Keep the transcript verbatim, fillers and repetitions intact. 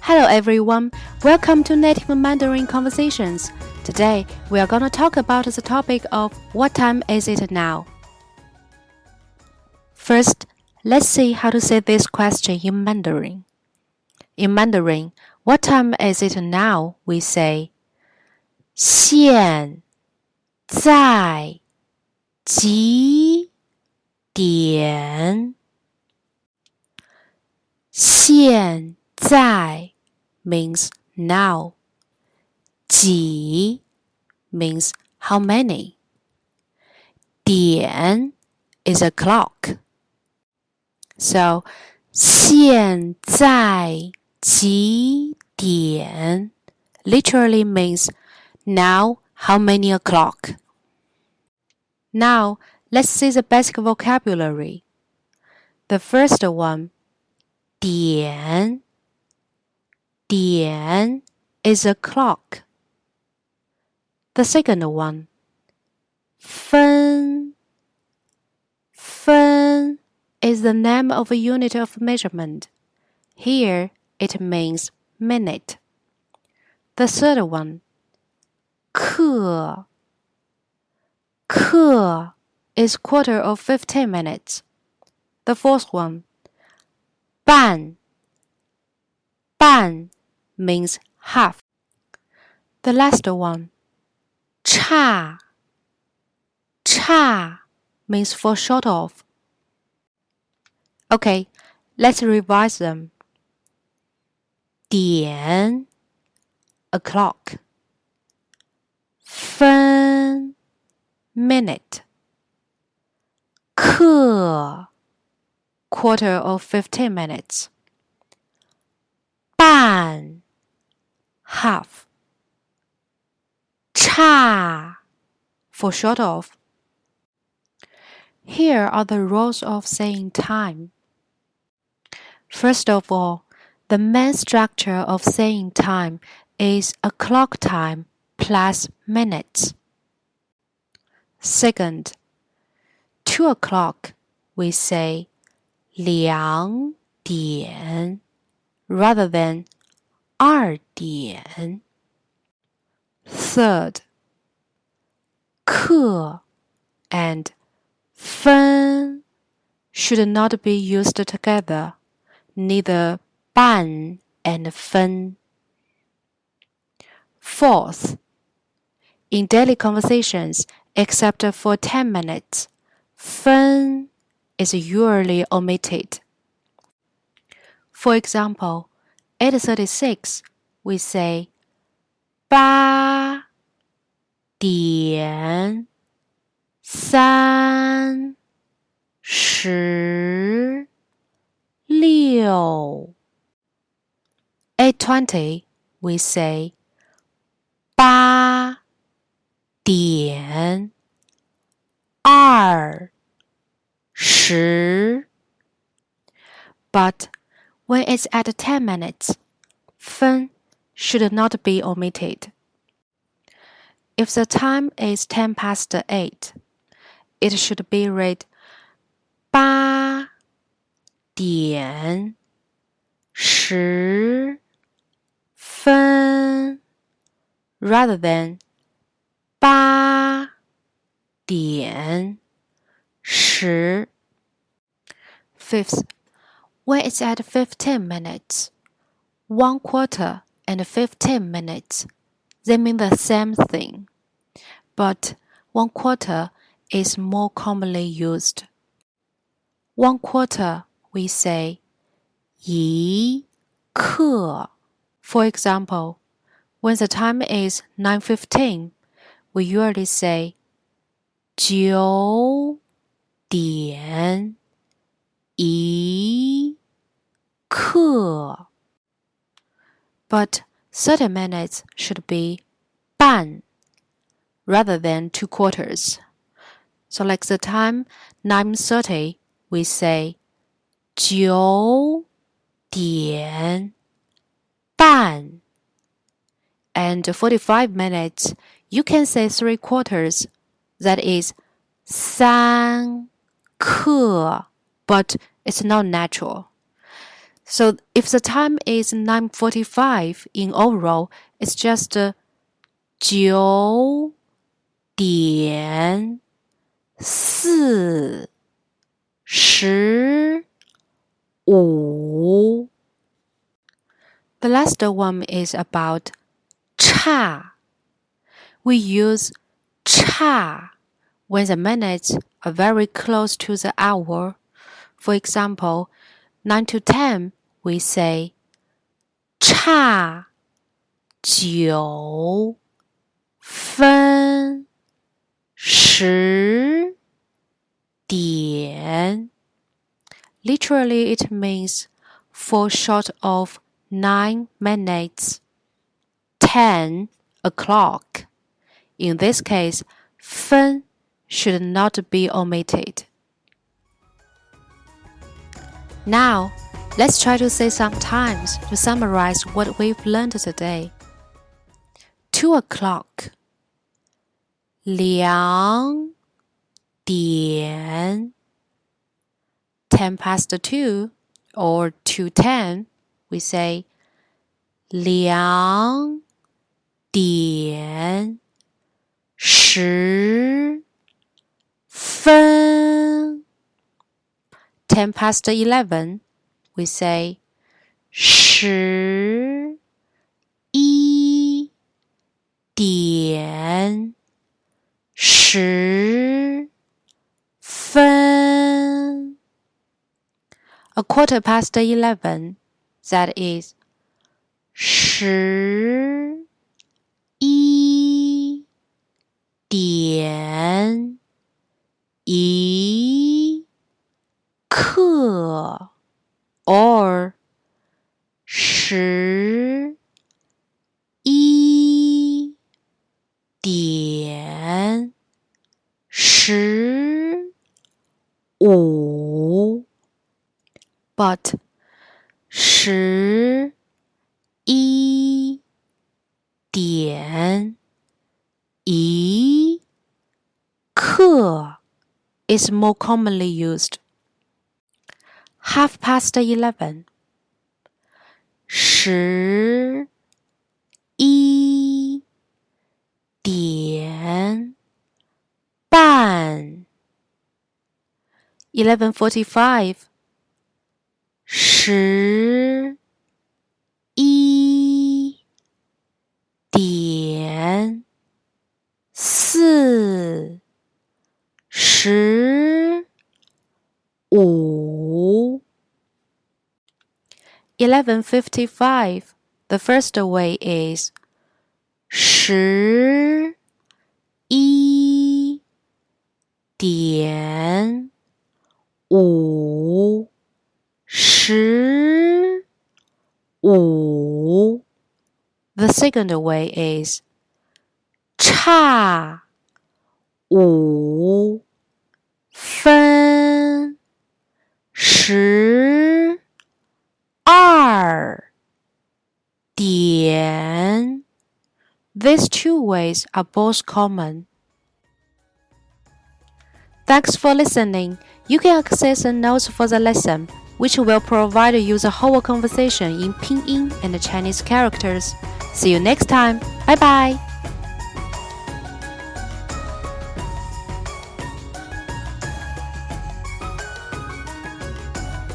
Hello everyone, welcome to Native Mandarin Conversations. Today we are going to talk about the topic of what time is it now? First, let's see how to say this question in Mandarin. In Mandarin, what time is it now? We say 现在几点？现在 means now. 几 means how many. 点 is a clock. So, 现在几点 literally means now how many o'clock. Now, let's see the basic vocabulary. The first one, 点点 is a clock. The second one, 分分 is the name of a unit of measurement. Here it means minute. The third one, 刻刻 is quarter of fifteen minutes. The fourth one, 半半 means half. The last one, 差差 means for short of. Okay, let's revise them. 点 o'clock. 分 minute. 刻 quarter of fifteen minutes. 半 half. 差 for short of. Here are the rules of saying time. First of all, the main structure of saying time is a clock time plus minutes. Second, two o'clock, we say 两点 rather than 二点. Third, 刻 and 分 should not be used together, neither 半 and 分. Fourth, in daily conversations, except for ten minutes, 分 is usually omitted. For example, eight thirty-six, we say 八点三十六. eight twenty, we say 八点二十. But when it's at ten minutes, 分 should not be omitted. If the time is ten past eight, it should be read 八点十分 rather than 八点十. Fifth, when it's at fifteen minutes, one quarter and fifteen minutes, they mean the same thing, but one quarter is more commonly used. One quarter, we say 一刻. For example, when the time is nine fifteen, we usually say 九点一刻. But thirty minutes should be 半 rather than two quarters. So like the time nine thirty, we say 九点半. And forty-five minutes, you can say three quarters. That is 三刻, but it's not natural. So if the time is nine forty-five in oral, it's just uh, 九点四十五。The last one is about 差。We use 差 when the minutes are very close to the hour. For example, nine to ten, we say 差九分十点。Literally, it means fall short of nine minutes. ten o'clock. In this case, 分 should not be omitted. Now, let's try to say some times to summarize what we've learned today. Two o'clock. 两点 ten past two or two ten, we say 两点十分 ten past eleven, we say 十一点十分 A quarter past eleven, that is 十一点一刻 or 十一点十五 but 十一点一刻 is more commonly used. Half past eleven. 十一点半 eleven forty-five. 十一点四十五 eleven fifty-five. The first way is 十一点五十五 The second way is 差五分十二点 These two ways are both common. Thanks for listening. You can access the notes for the lesson, which will provide you the whole conversation in Pinyin and Chinese characters. See you next time. Bye bye.